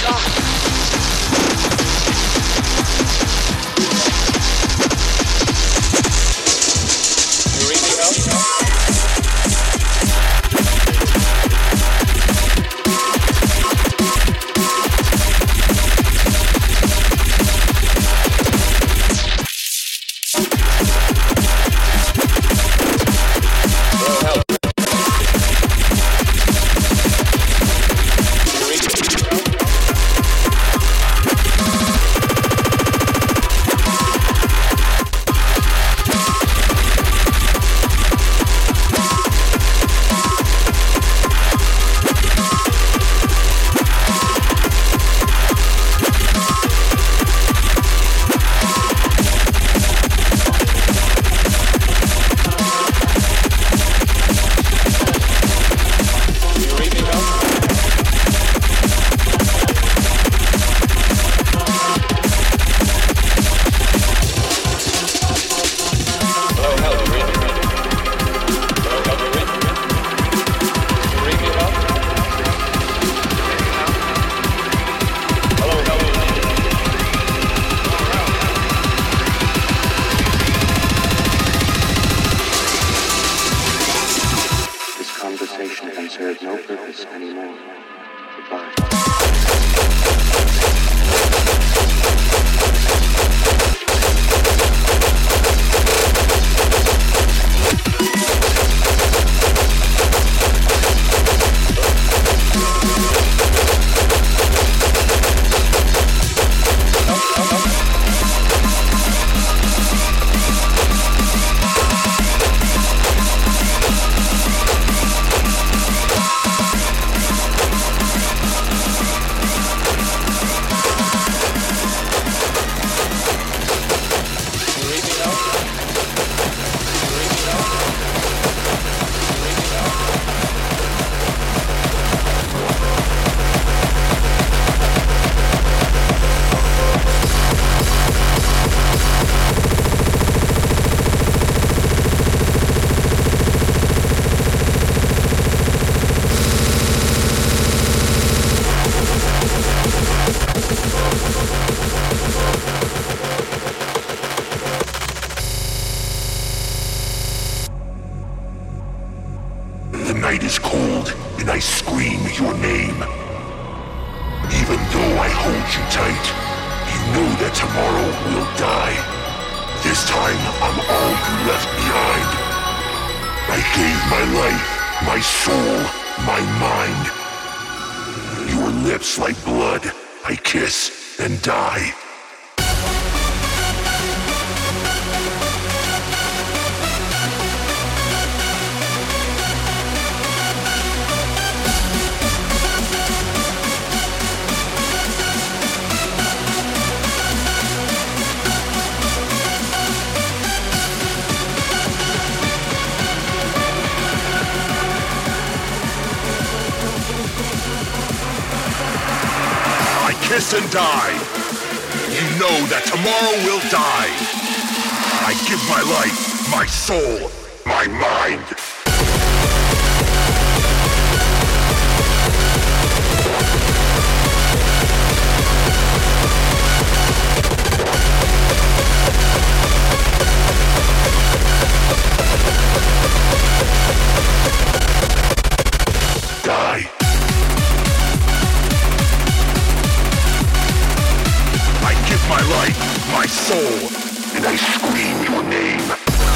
Kiss and die. You know that tomorrow will die. I give my life, my soul, my mind. Die. My life, my soul, and I scream your name.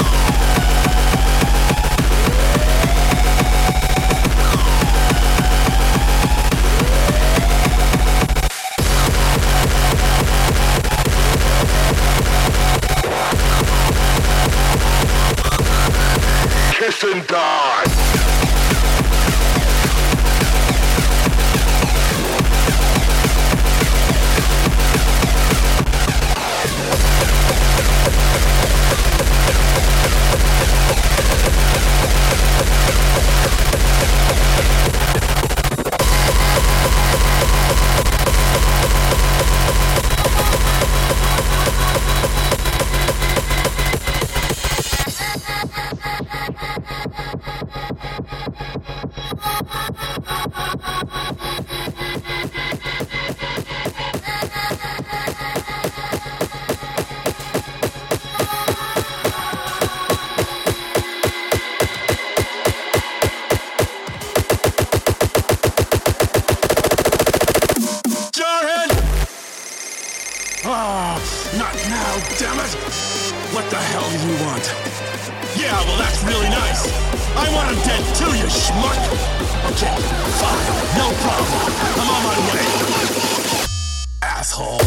Kiss and die. What the hell do you want? Yeah, well that's really nice. I want him dead too, you schmuck. Okay, fine, no problem. I'm on my way. Asshole.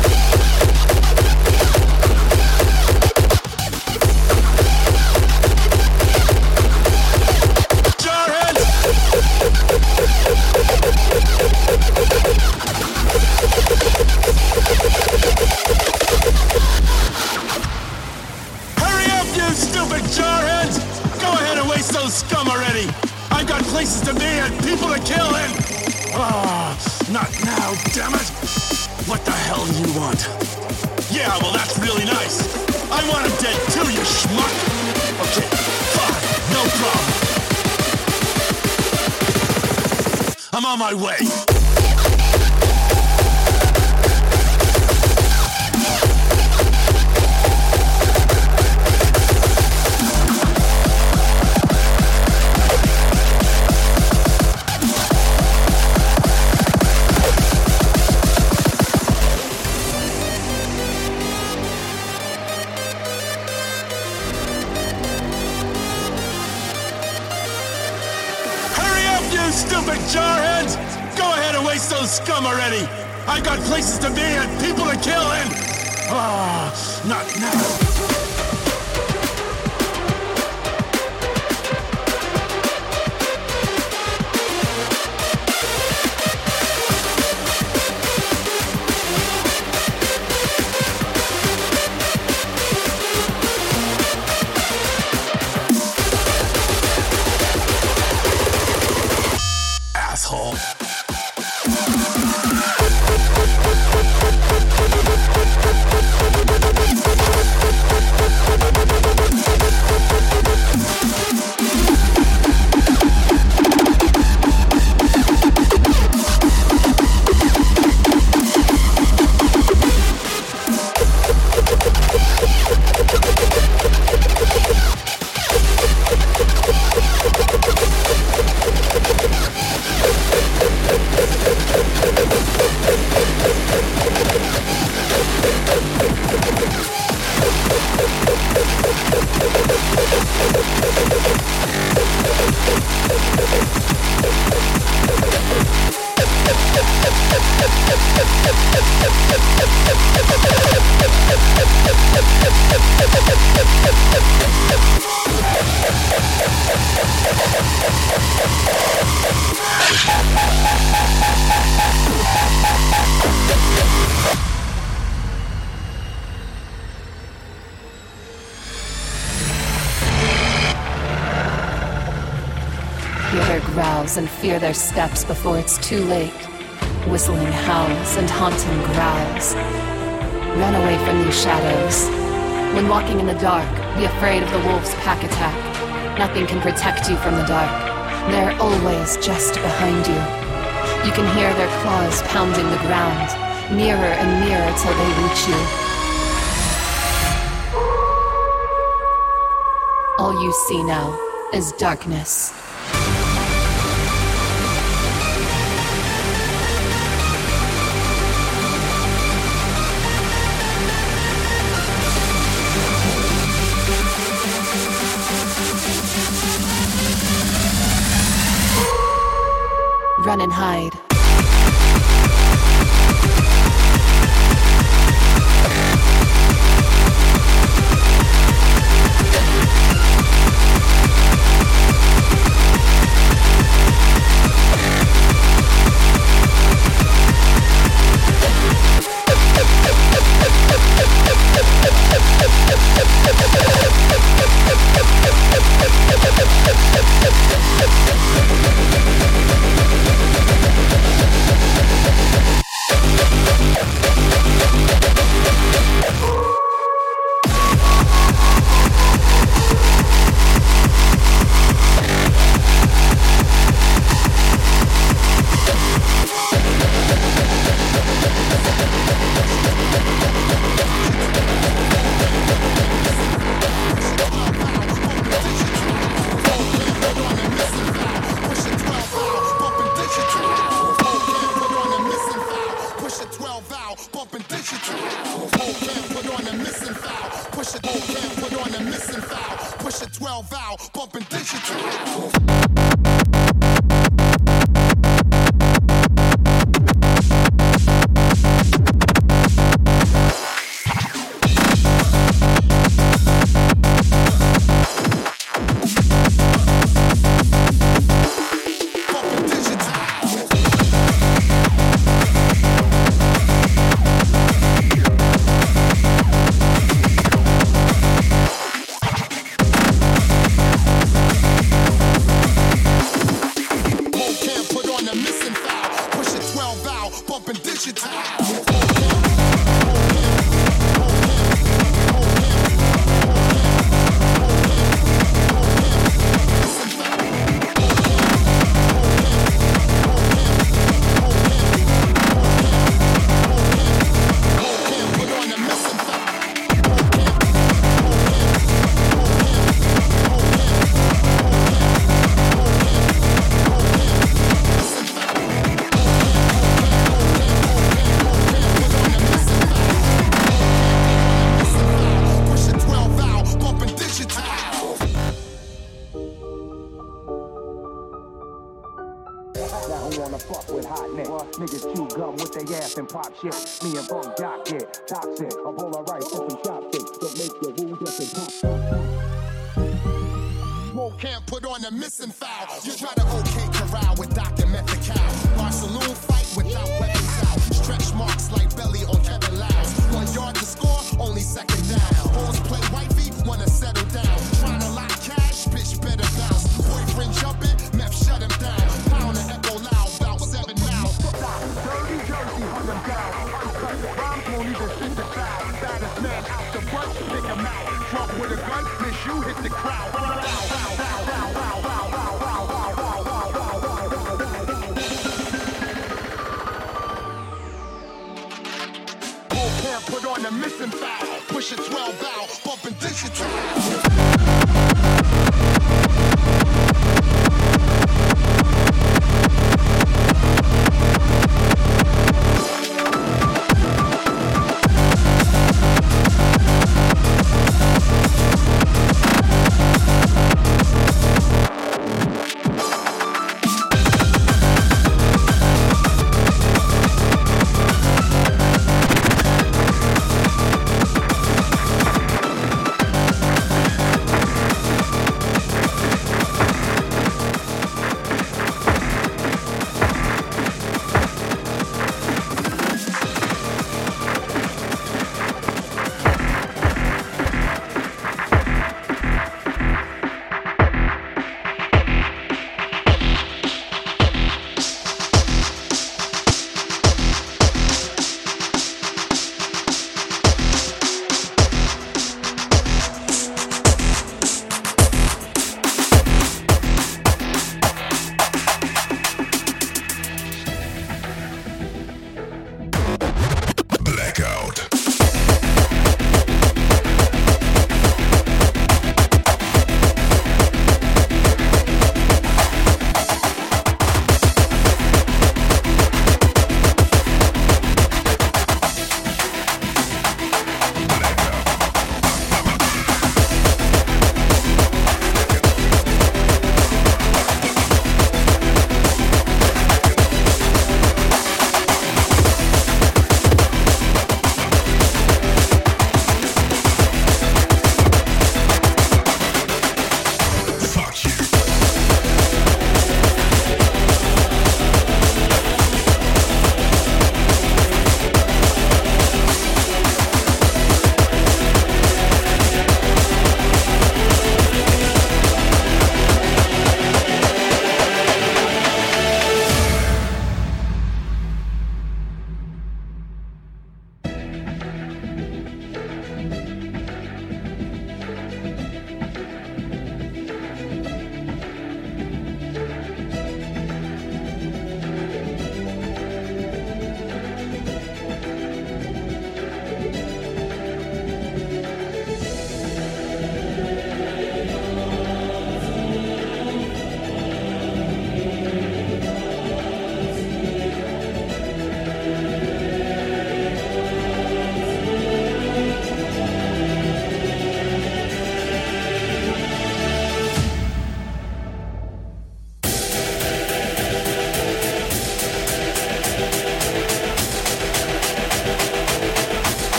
Stupid jarheads! Go ahead and waste those scum already! I've got places to be and people to kill and... not now, damn it! What the hell do you want? Yeah, well that's really nice. I want him dead too, you schmuck! Okay, fine, no problem. I'm on my way. Stupid jarheads! Go ahead and waste those scum already! I've got places to be and people to kill and... not now. And fear their steps before it's too late. Whistling howls and haunting growls. Run away from these shadows. When walking in the dark, be afraid of the wolf's pack attack. Nothing can protect you from the dark. They're always just behind you. You can hear their claws pounding the ground, nearer and nearer till they reach you. All you see now is darkness. Run and hide. Can't put on the missing foul. Push a 12 valve, bumping digital. And pop shit, me and Bunk Doc get toxic. A bowl of rice and some chopsticks. Don't make your wound up and pop. Can't put on the missing foul. You try to OK corral with Dr. Methical. Bar saloon fight without weapons out. Stretch marks like belly on Kevin Louse. 1 yard to score, only second down. Hoes play wifey, wanna settle down. Trying to lock cash, bitch better bounce. Boyfriend jumping, meth shut him down. Pound and echo loud, about 7 miles. Dirty Jersey, hunt them down. Uncut rhymes won't even fit the foul. Baddest man out the bunch, pick him out. Drunk with a gun, miss you, hit the crowd. Can't put on the missing foul. Push a 12 valve, bumping digital.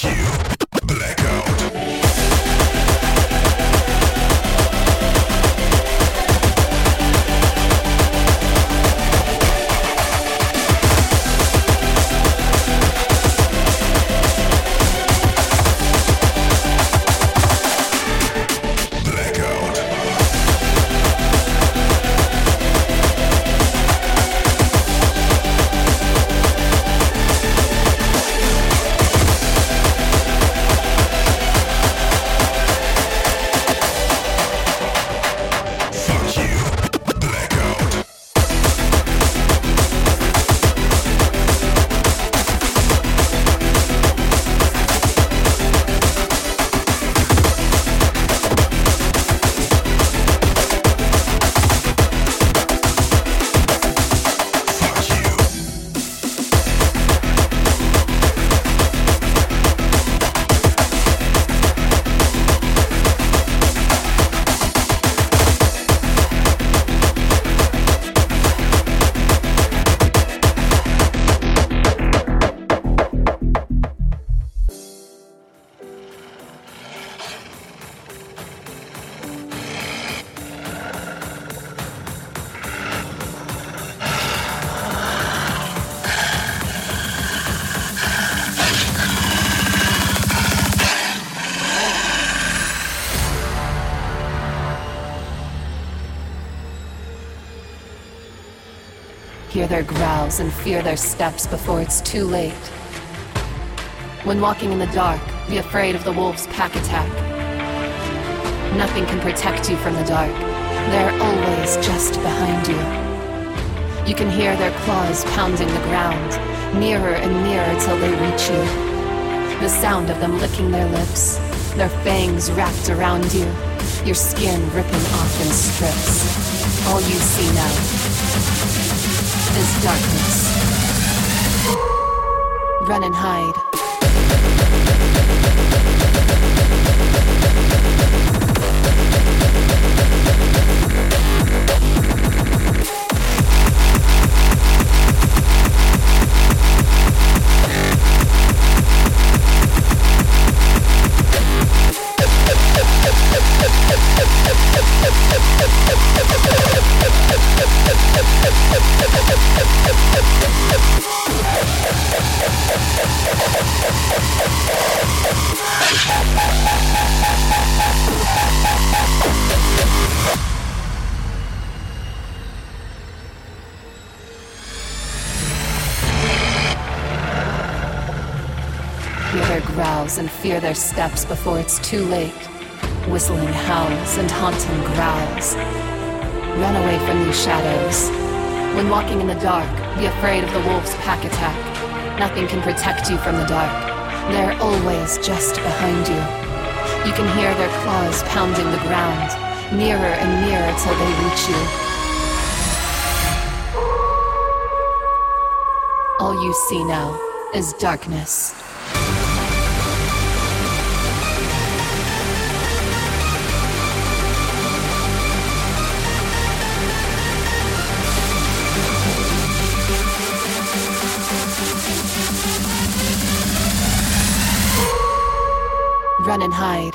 Hear their growls and fear their steps before it's too late. When walking in the dark, be afraid of the wolves' pack attack. Nothing can protect you from the dark. They're always just behind you. You can hear their claws pounding the ground, nearer and nearer till they reach you. The sound of them licking their lips, their fangs wrapped around you, your skin ripping off in strips. All you see now is darkness. Run and hide. Hear their growls and fear their steps before it's too late. Whistling howls and haunting growls. Run away from these shadows. When walking in the dark, be afraid of the wolves' pack attack. Nothing can protect you from the dark. They're always just behind you. You can hear their claws pounding the ground, nearer and nearer till they reach you. All you see now is darkness. Run and hide.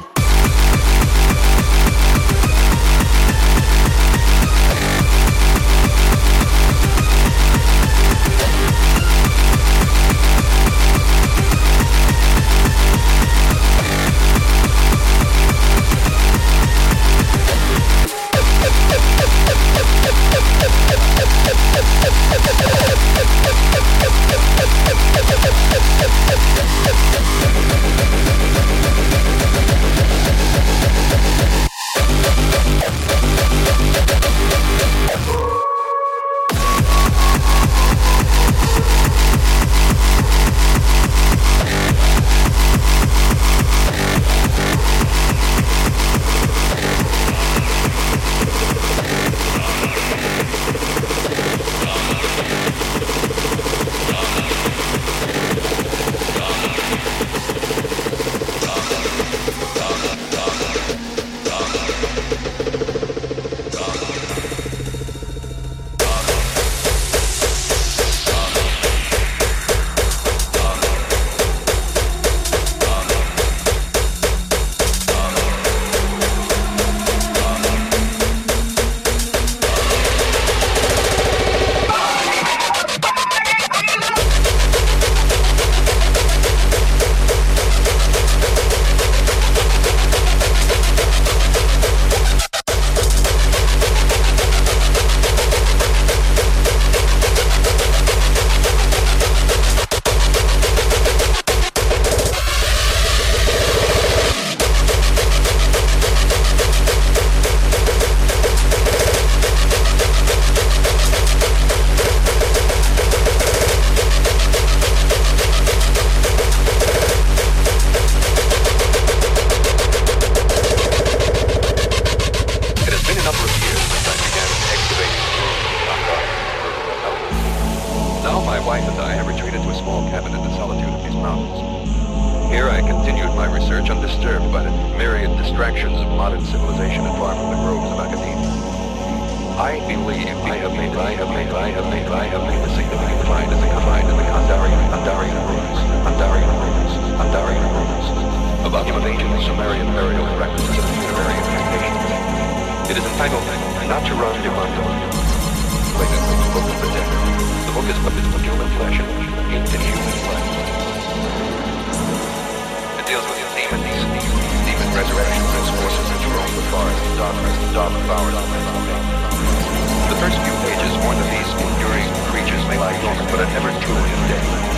I continued my research undisturbed by the myriad distractions of modern civilization and far from the groves of academia. I believe I have made the significant find in the Kandarian ruins about the ancient Sumerian burial practices of the funerary incantations. It is entitled Natural Demandum. The book of the dead. The book is of human flesh into human flesh. It deals with demon resurrections as forces which roam the forest, dog devoured. The first few pages warn that these enduring creatures may lie dormant, but are never truly dead.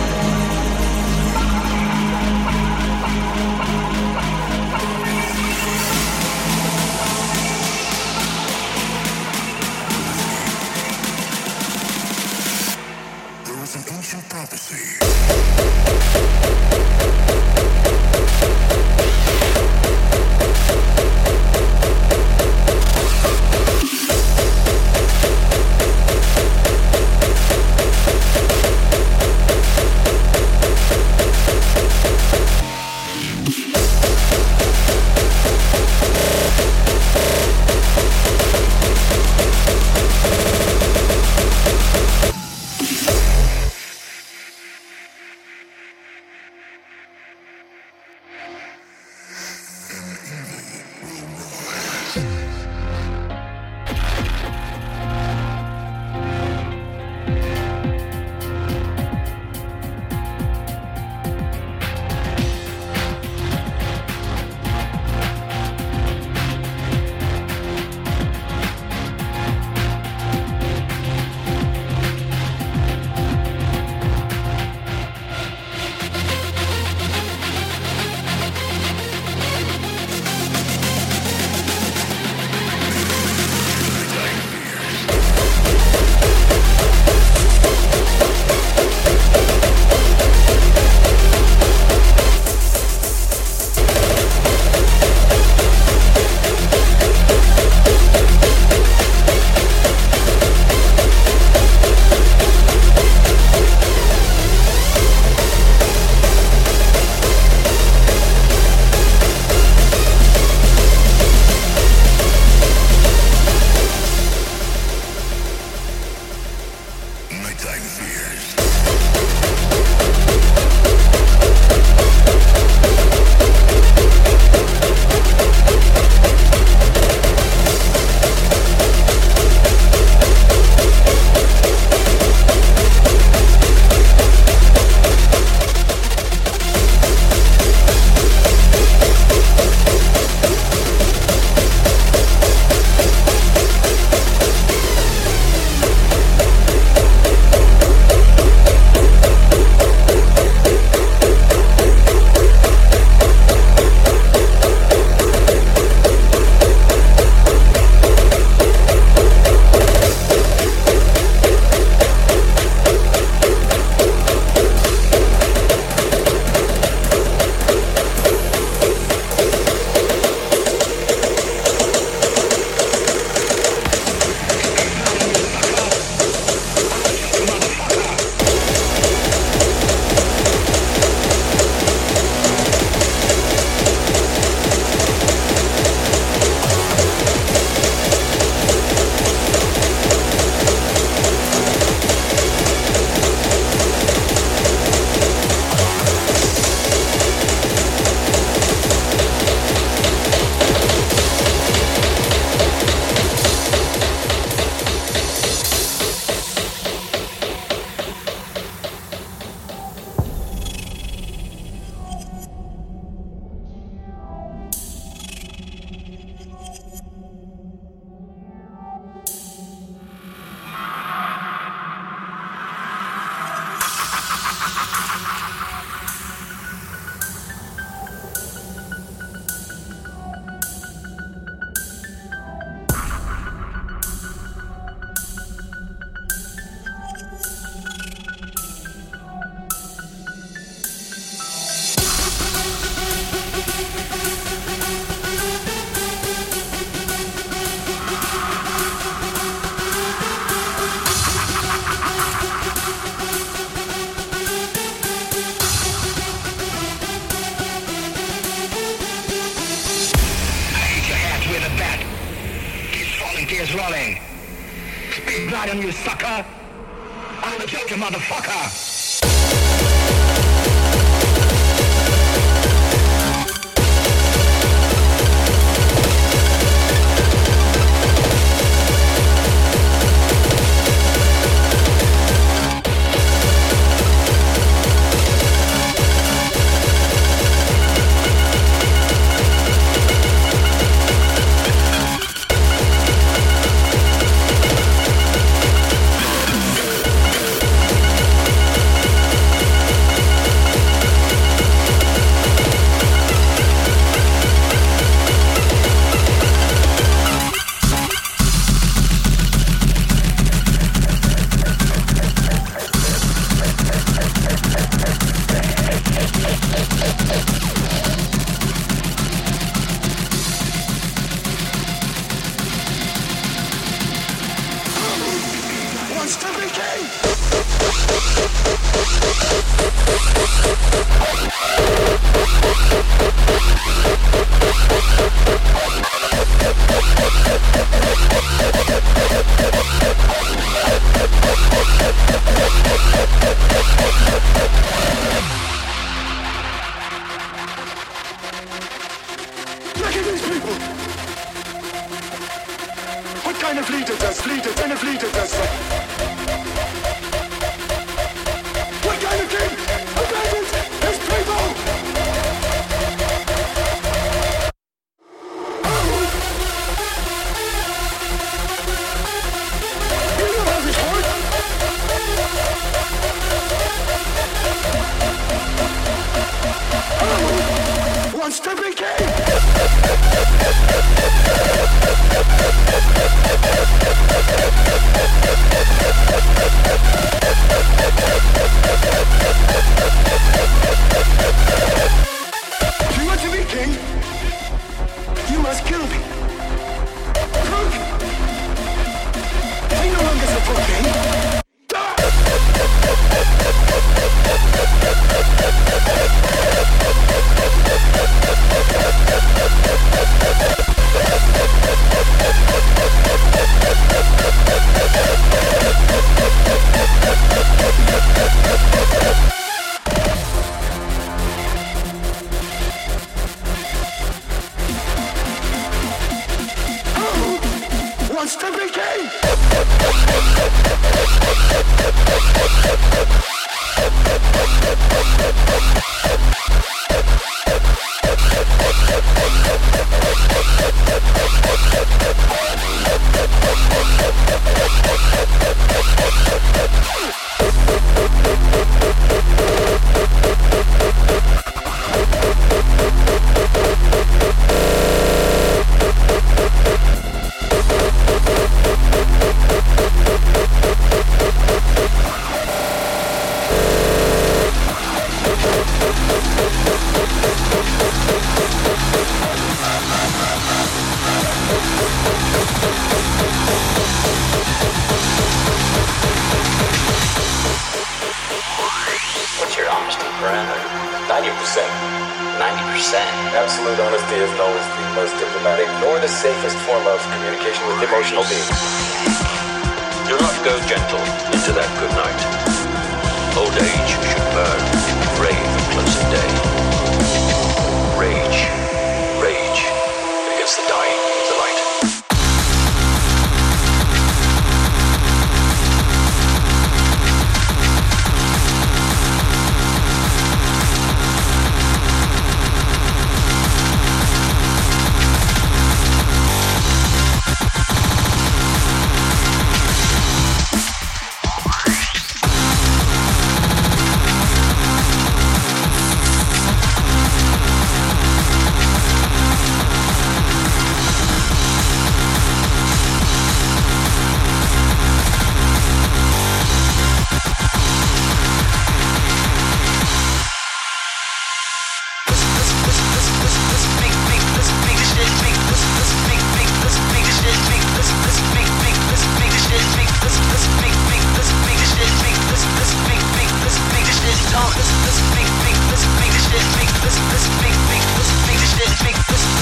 blood on you, sucker! I'm the guilty motherfucker!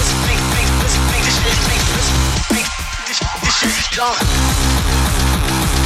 Gone.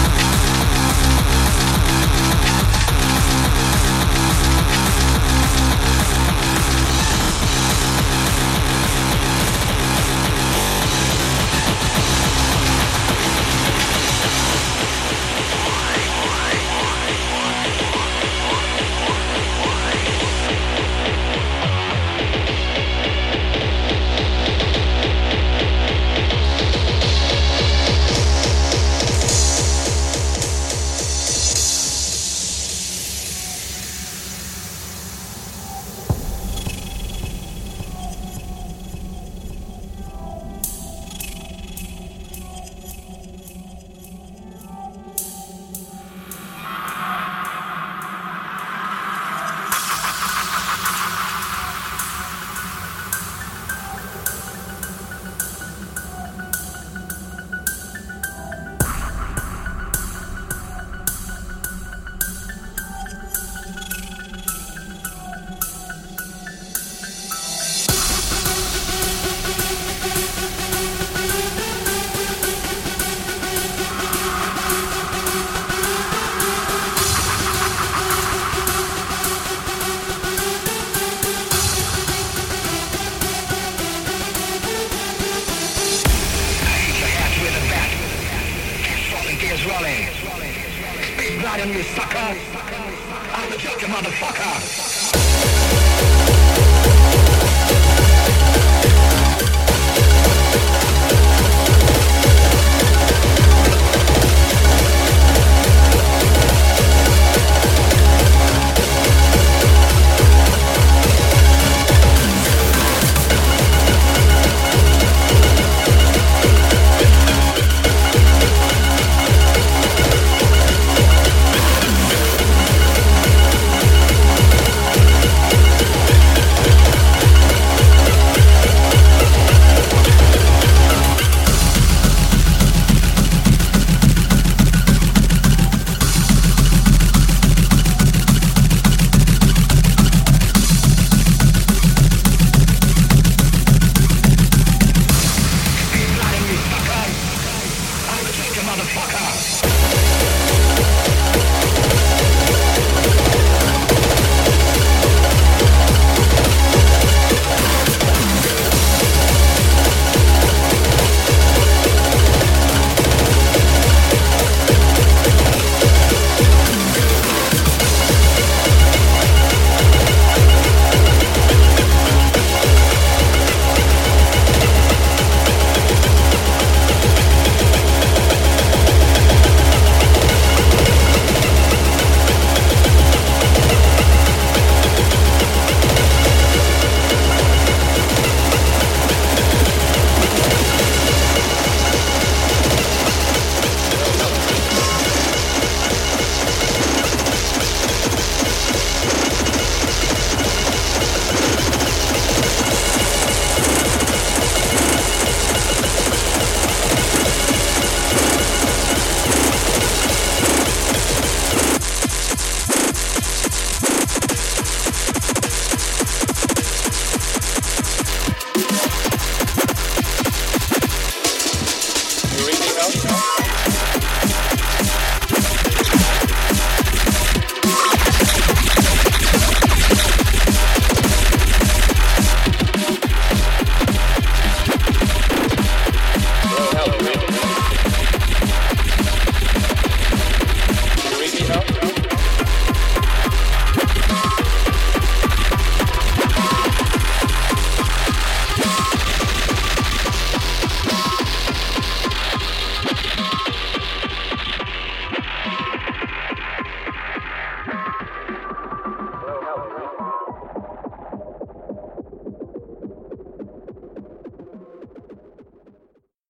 Poseidon, you sucker! I'm the Joker, motherfucker!